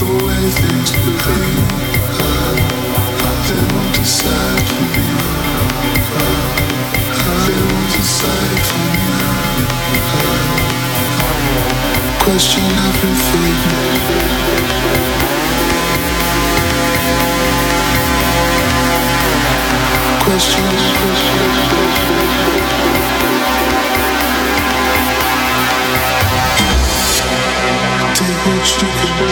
Question everything. Question. Take what you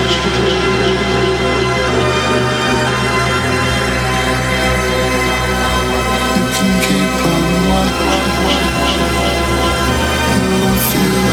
can keep on you will feel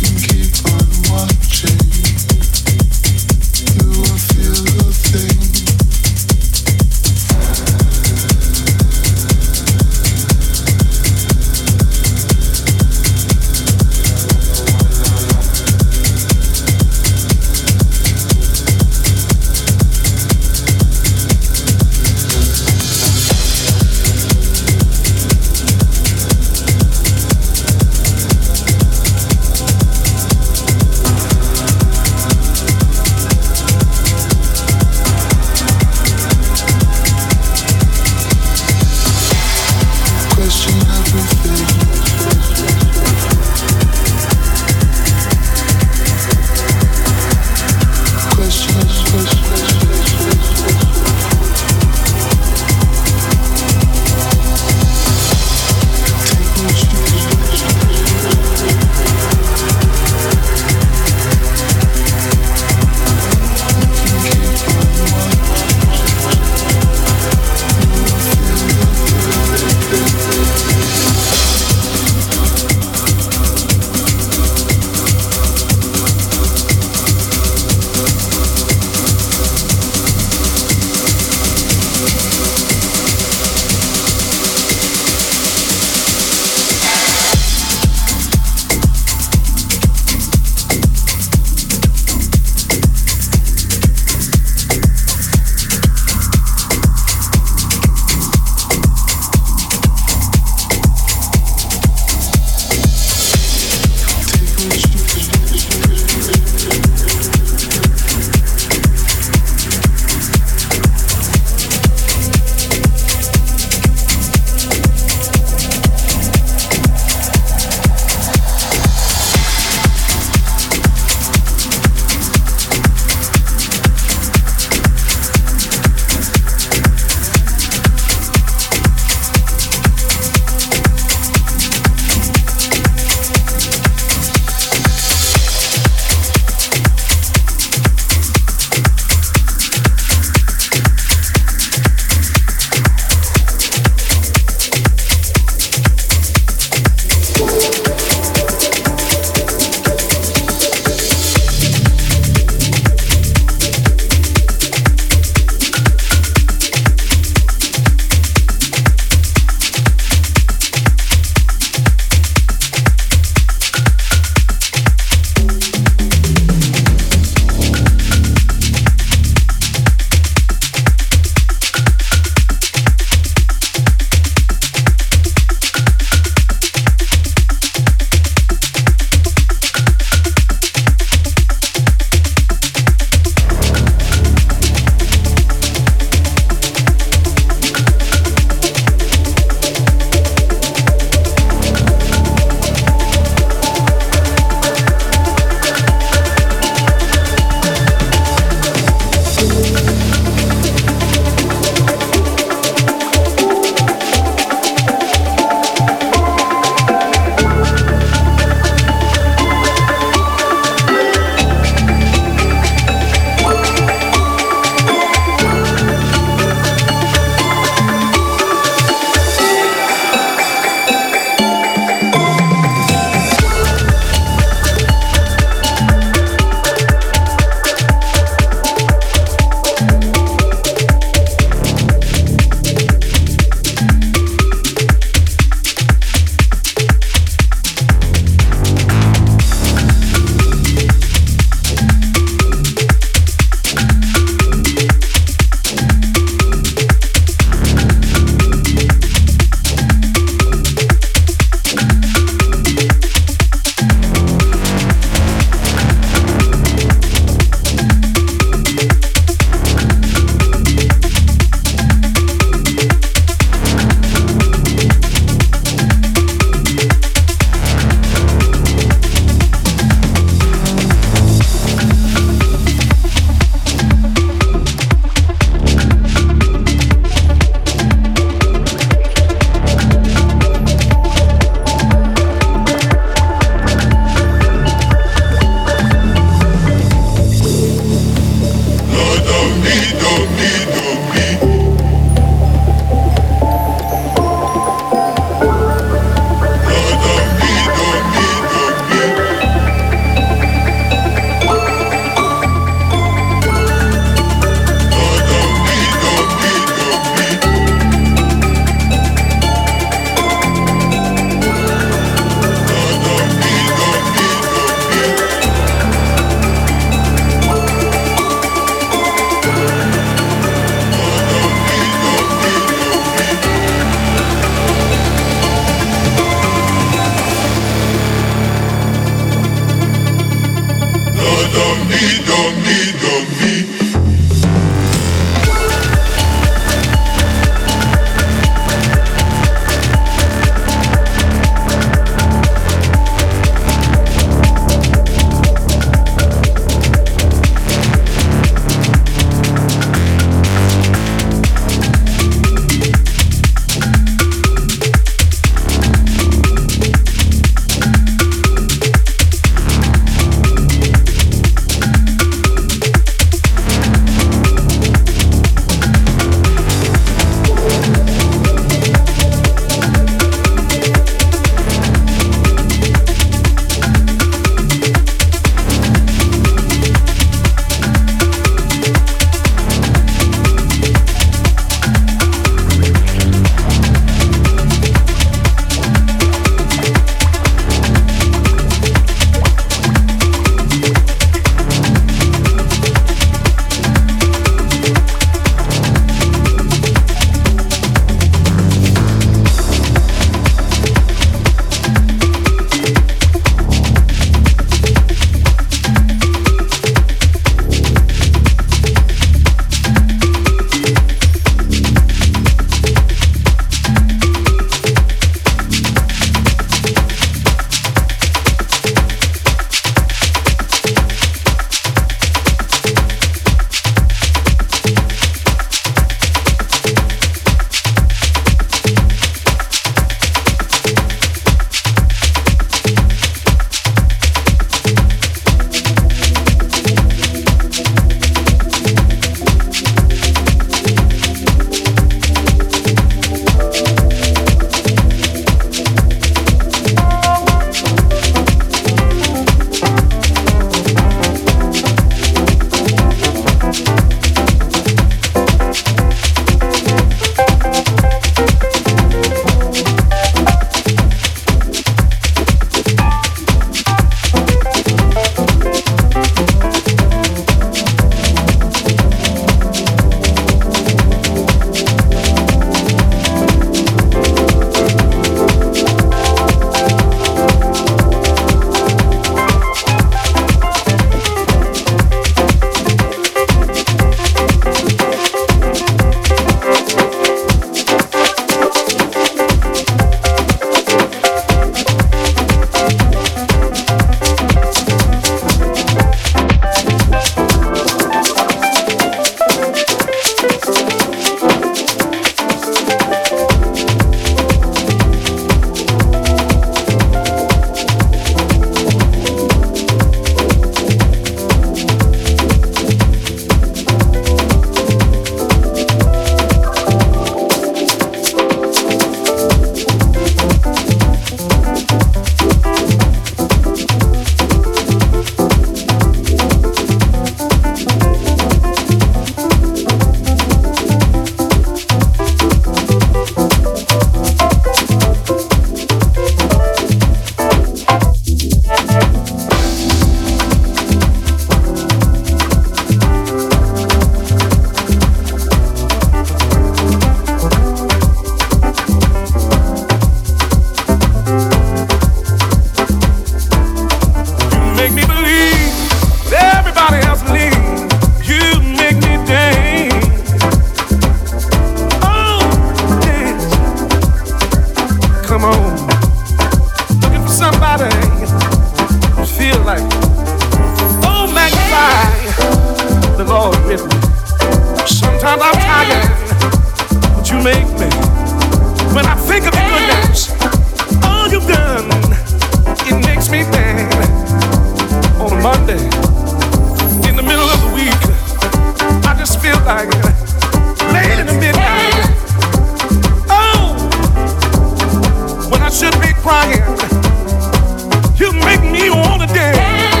make me. When I think of your goodness, all you've done, it makes me dance. On a Monday, in the middle of the week, I just feel like late in the midnight. Oh, when I should be crying, you make me wanna dance.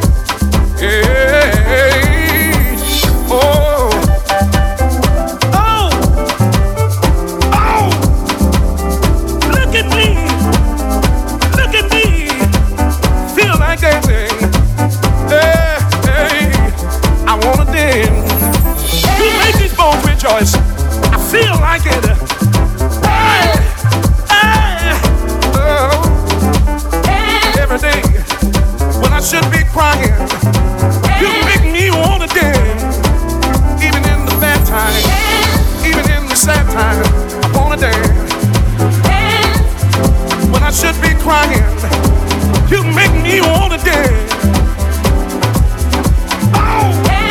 Yeah. Oh. Oh. Oh. Look at me. Look at me. Feel like dancing. Hey, hey. I wanna dance. You make these bones rejoice. I feel like it. Hey. Hey. Oh. Every day when I should be crying, you make me wanna dance. Even in the bad time, even in the sad time, I wanna dance. When I should be crying, you make me wanna dance. Oh,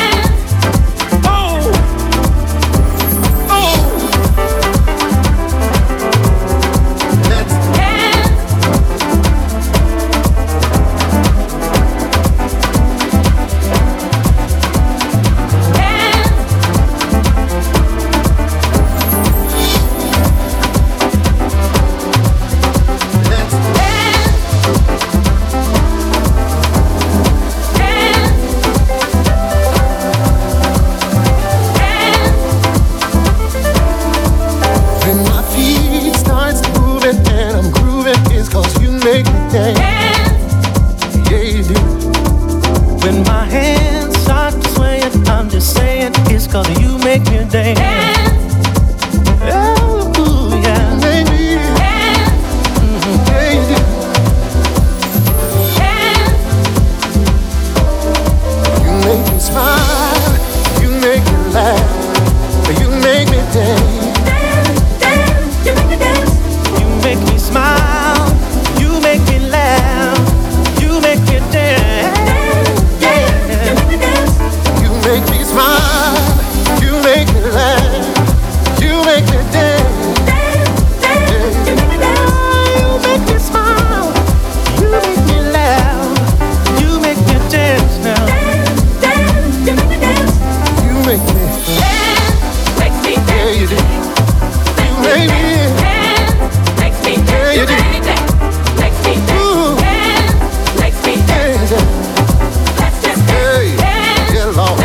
oh, oh. Let's dance. When my hands start swaying, I'm just saying it's 'cause you make me dance. Oh, yeah. Baby. Baby. You make me smile, you make me laugh, you make me dance. You make me dance. You make me smile, you make me laugh, you make me dance. You make me smile, you make me laugh, you make me dance. You make me smile, you make me laugh, you make me dance now. You make me dance, yeah you do. You make me dance, yeah you do. Ooh, dance. Hey, yeah Lord.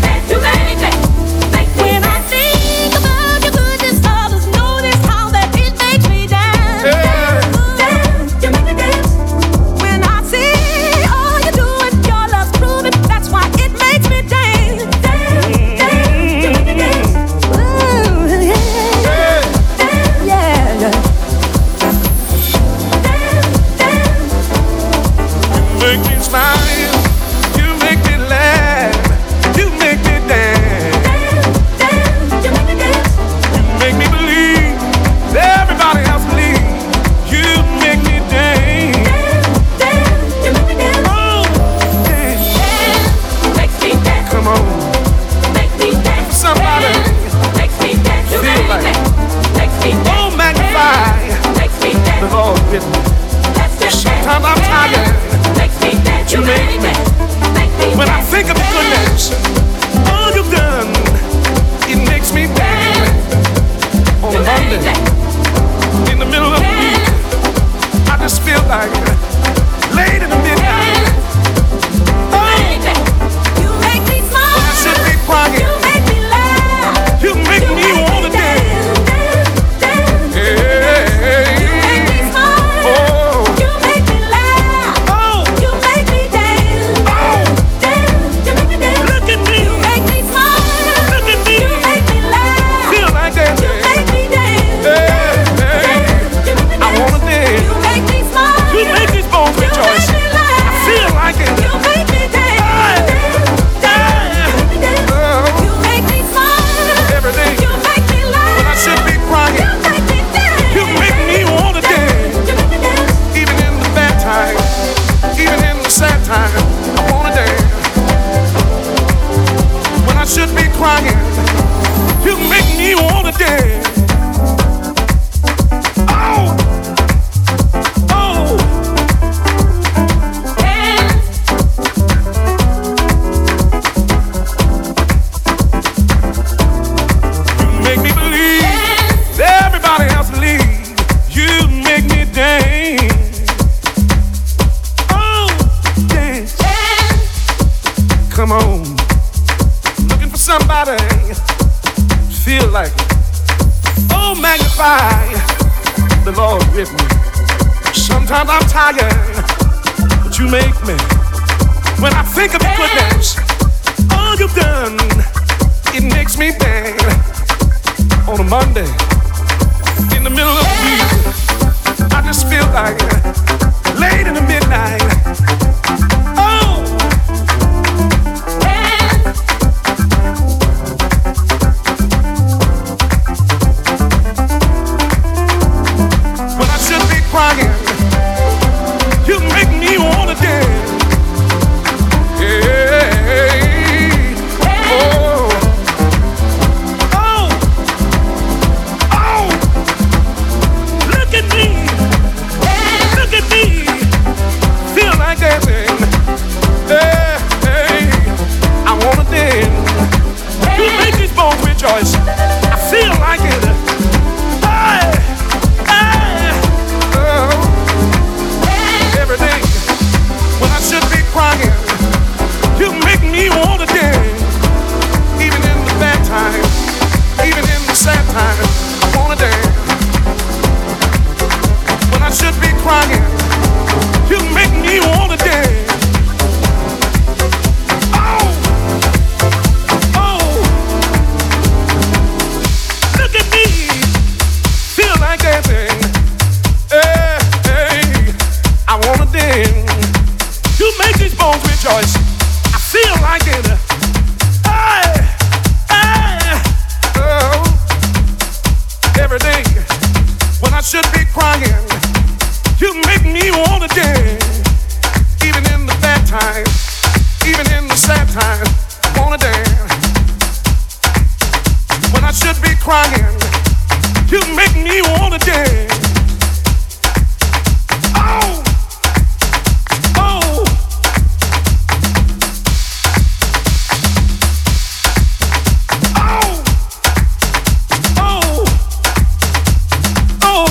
When I think about your goodness, others notice how that it makes me dance. Dance, you make me dance. When I see all you do and your love's proving, that's why it makes me dance. Dance, you make me dance. Ooh, yeah, yeah, yeah. You make me smile, you make me laugh, you make me dance. You make me dance. You make me believe, everybody else believe. You make me dance. You make me dance. Oh, dance. Makes me dance. Come on, Makes me dance. somebody. Makes me dance. You Feel make me like dance. Makes me dance. Oh, magnify Makes me the dance. Lord with me. That's just Sometimes I'm tired. Makes me dance. You make me. Make me When I dance. think of your goodness, all you've done, it makes me dance. On a Monday, in the middle of the week, I just feel like late in the midnight. Oh, You make me smile. when I should be crying, You make me laugh. you make me wanna dance. Hey, You make me smile. oh, You make me laugh. oh, You make me dance. oh, You make me dance. look at me, You make me smile. look at me, You make me laugh. feel like You dancing. make me dance. Hey, hey, You make me I wanna dance. You make me smile. You make these bones You rejoice. make me laugh. I feel like it. You make me dance. Oh, You make me smile. every day You make me laugh. when I should be crying, You make me dance. you make me wanna dance. You make me dance. Even in the bad time, even in the sad time, I wanna dance. When I should be crying, you make me wanna dance. feel like it. Oh, magnify the Lord with me. Sometimes I'm tired, but you make me. When I think of your goodness, all you've done, it makes me bang. On a Monday, in the middle of the week, I just feel like late in the midnight. Oh, when I should be crying, you make me wanna dance. Hey, oh, oh, oh, look at me, feel like dancing. Hey, hey, I wanna dance. You make these bones rejoice. I feel like it. Hey, hey, oh, every day when I should be crying, you make me wanna dance. Even in the bad times, even in the sad times, I wanna dance. When I should be crying, you make me wanna dance. Oh, oh, look at me, feel like dancing. Hey, hey, I wanna dance. You make these bones rejoice. I feel like it. Hey, hey, oh, every day when I should be crying, you make me wanna dance. Even in the bad times, even in the sad times, I wanna dance. When I should be crying, you make me wanna dance. Oh, oh, oh, oh, oh.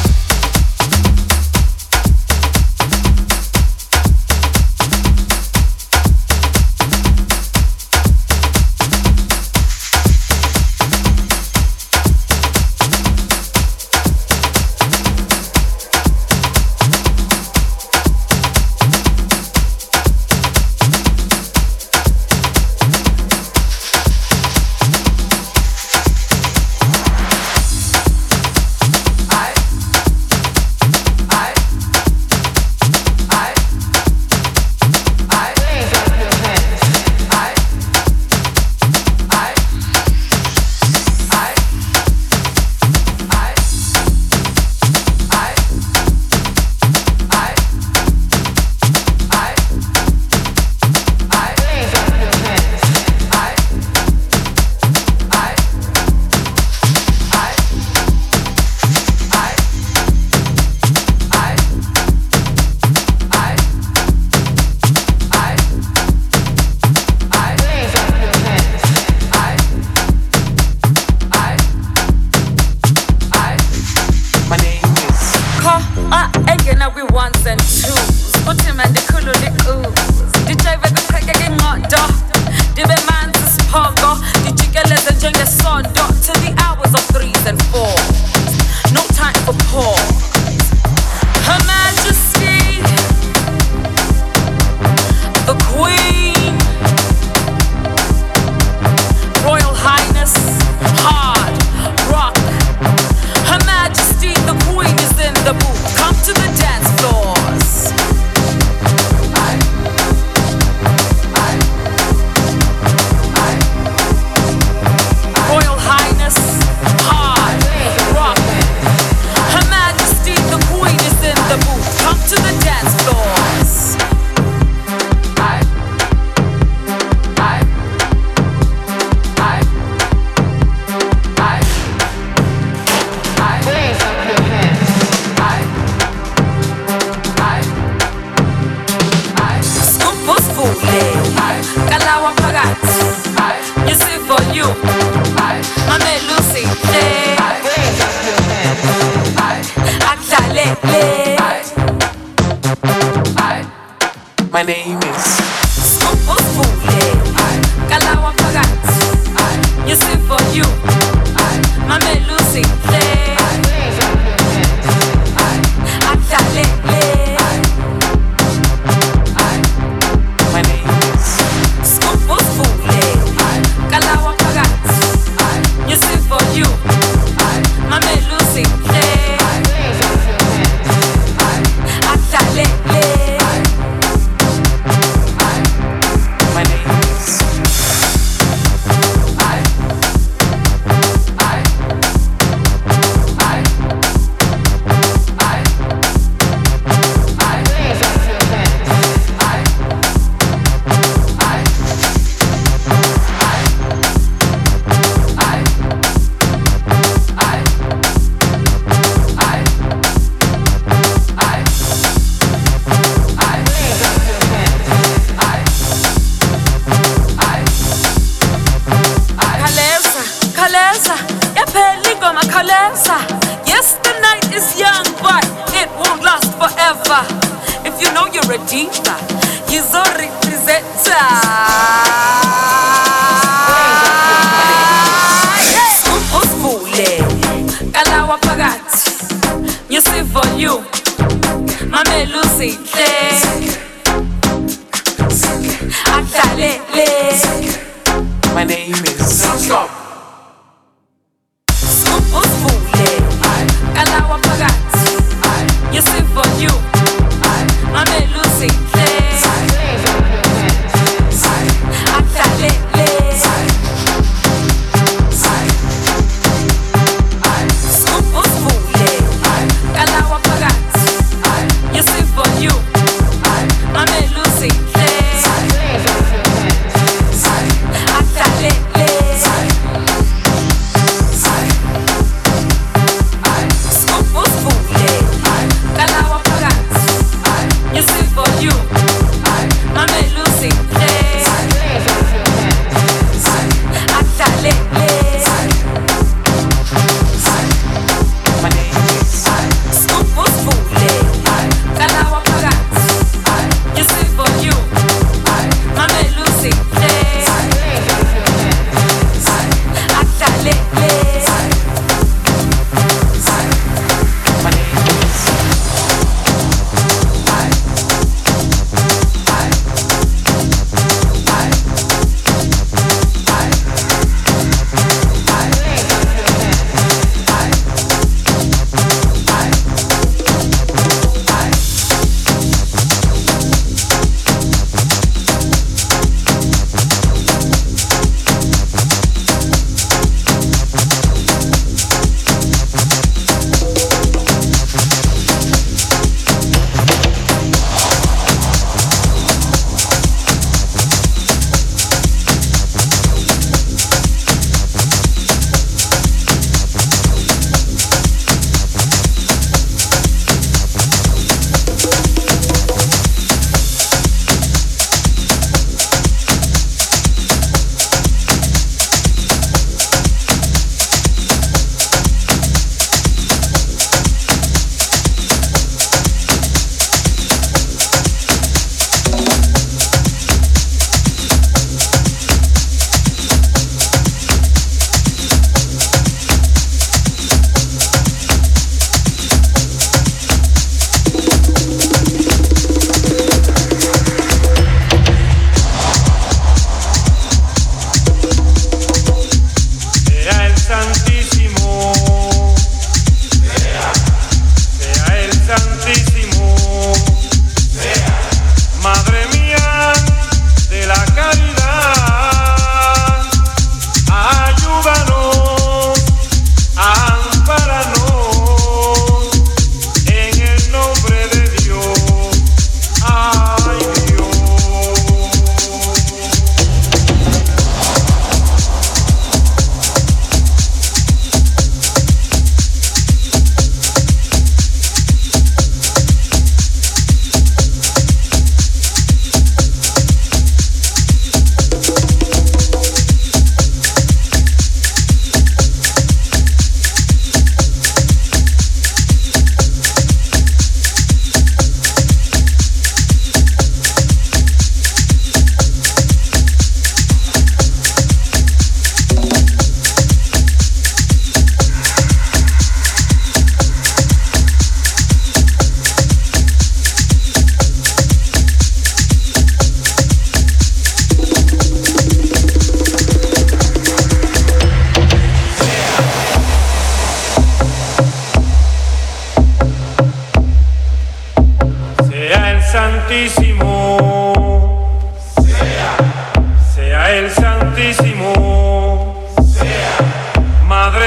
My name is Kalawa Pagat. You sing for you.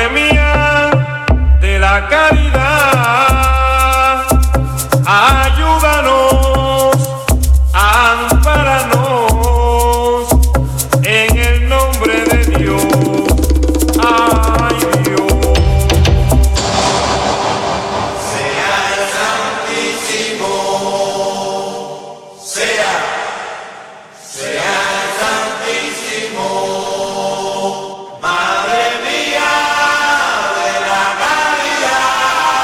Madre mía de la caridad, ayúdanos, ampáranos en el nombre de Dios. Ay, Dios. Sea el Santísimo, sea el Santísimo, Madre mía de la caridad.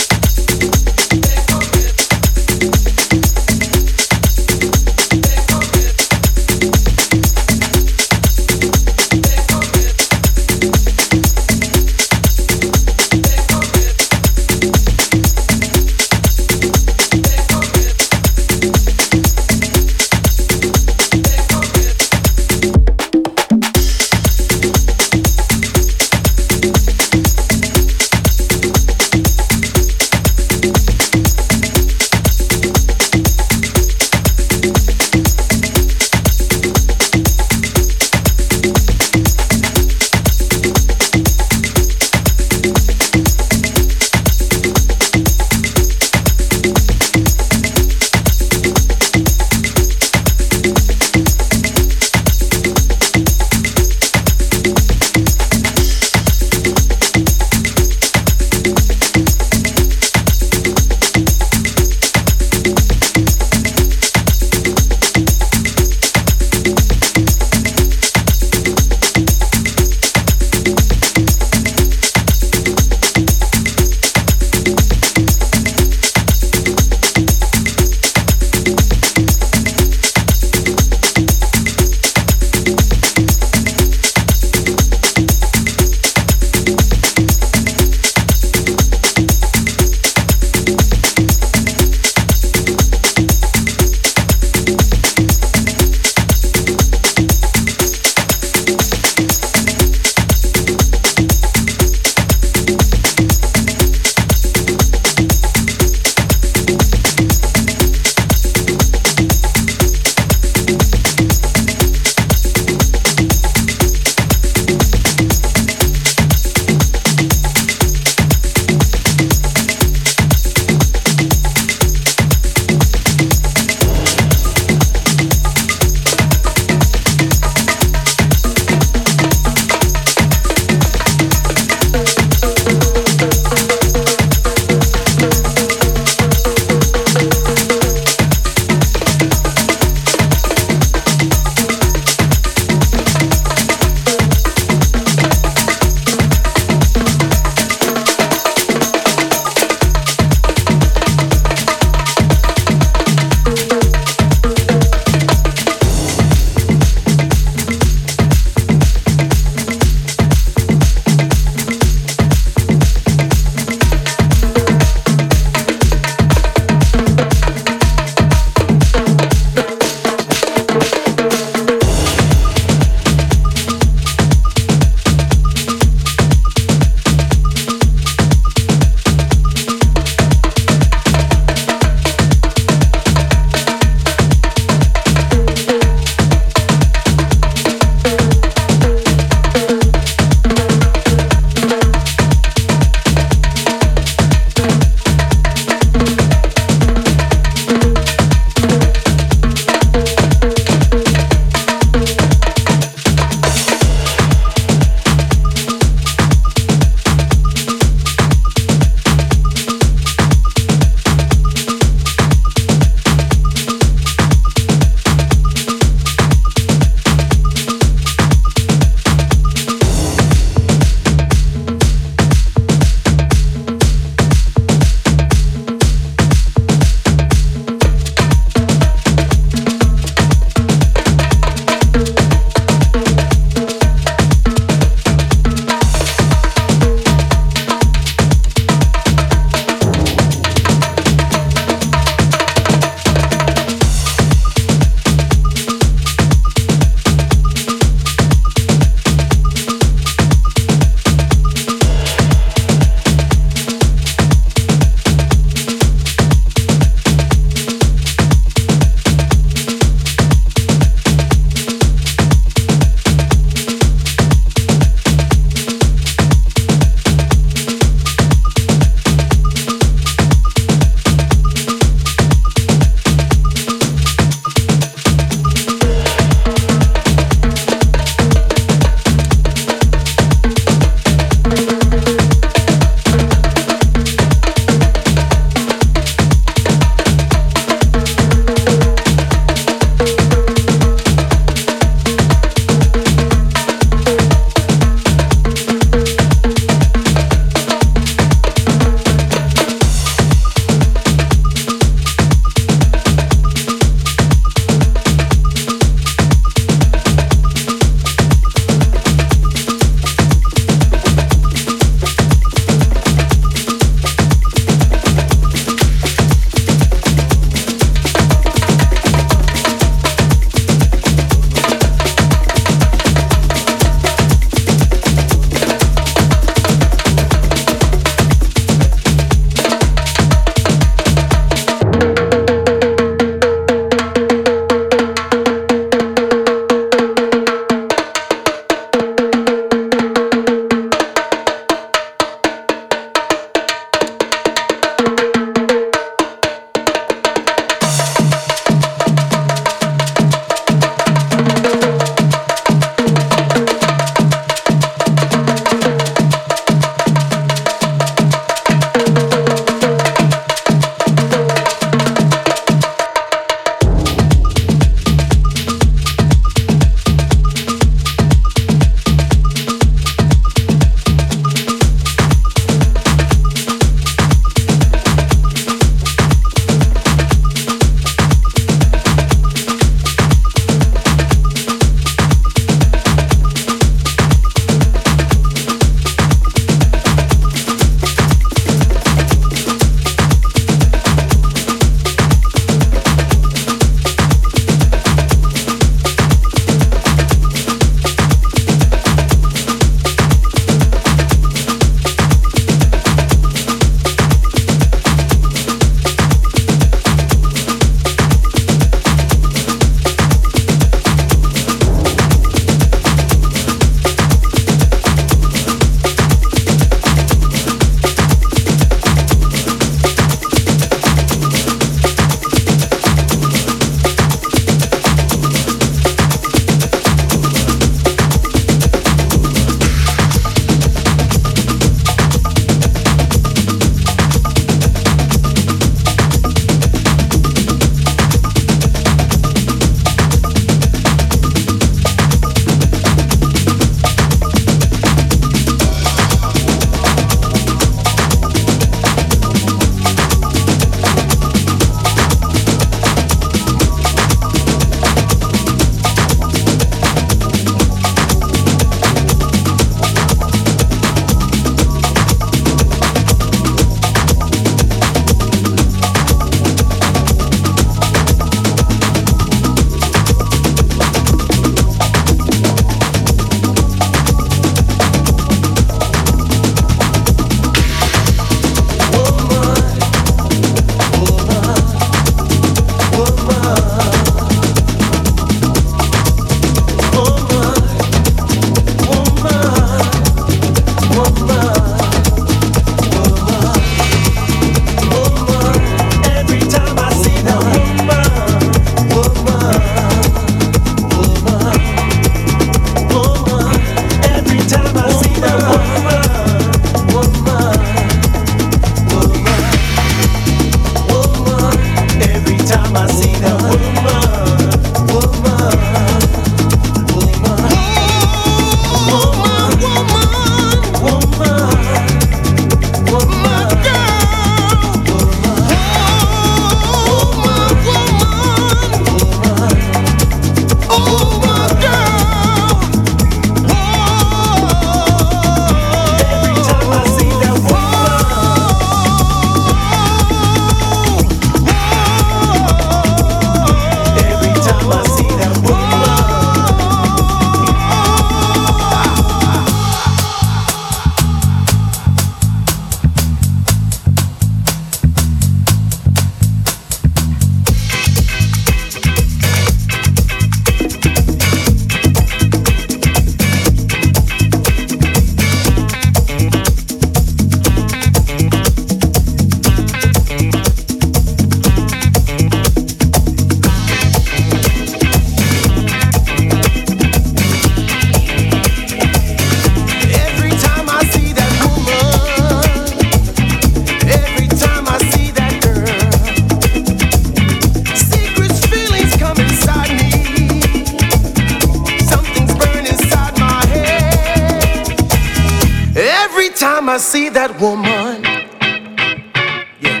time I see that woman, yeah.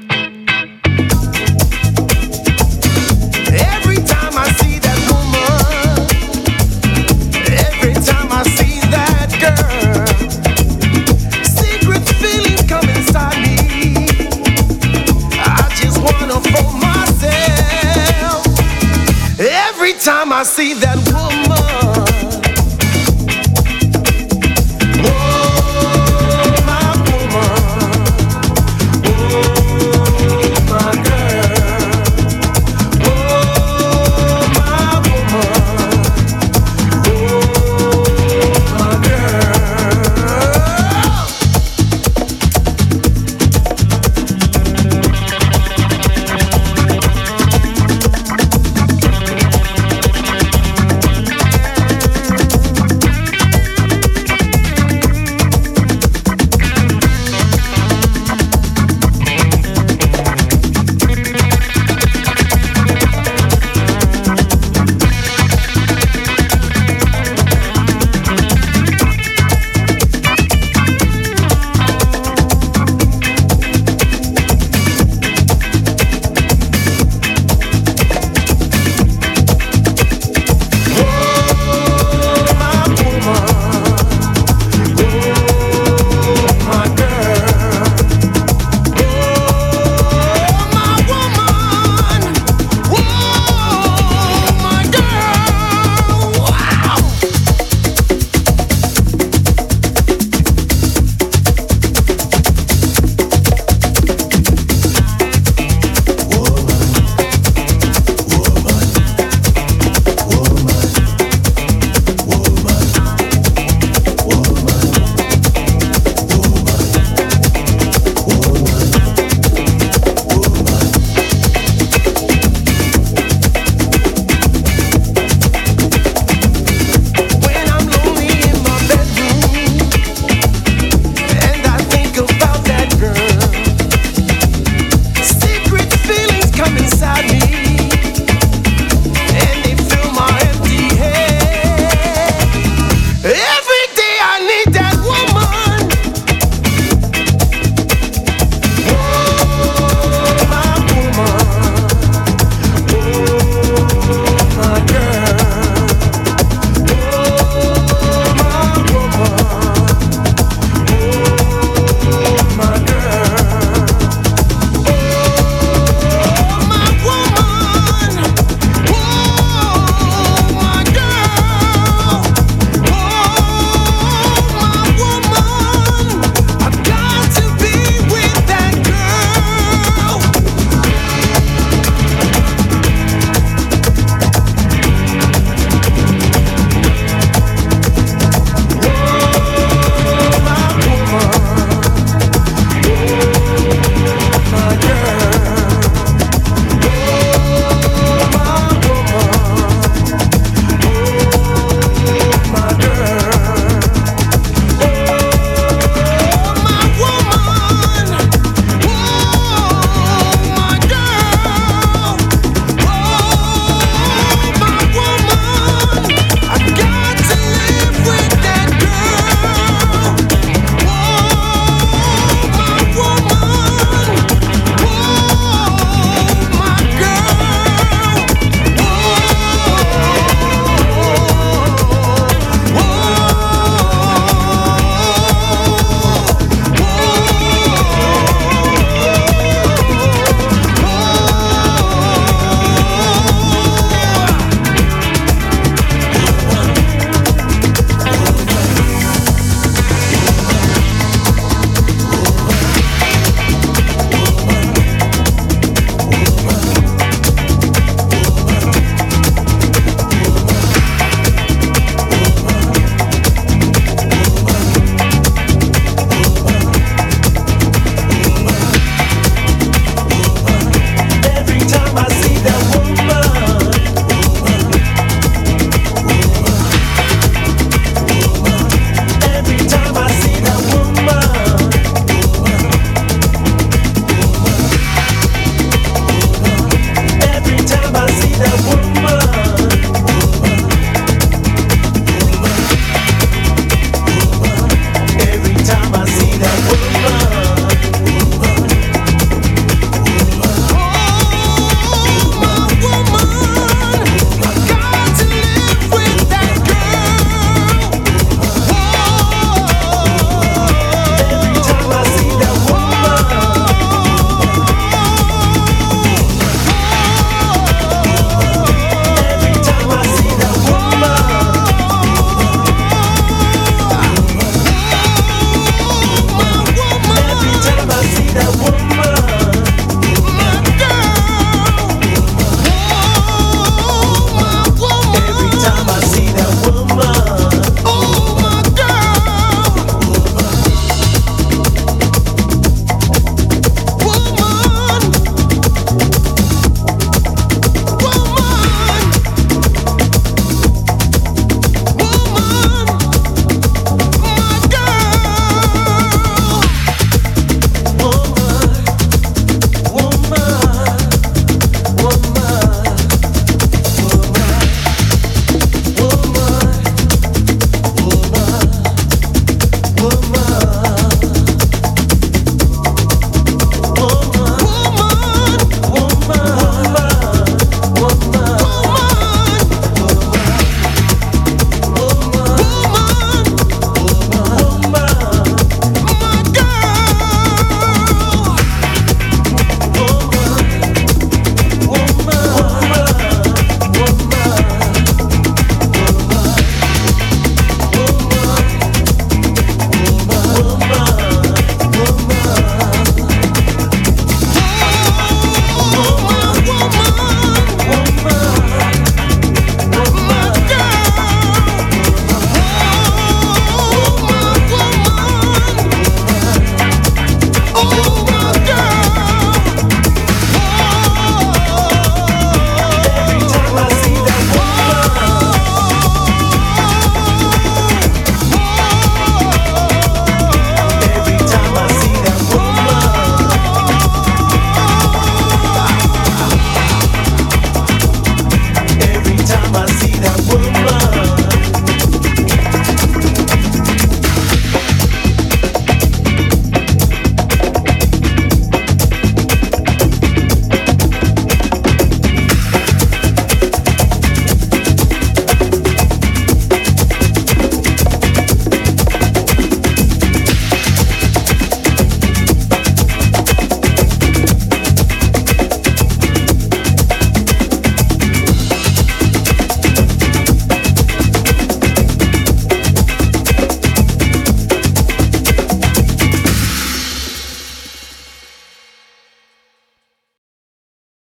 Every time I see that woman, every time I see that girl, secret feelings come inside me. I just wanna for myself. Every time I see that woman,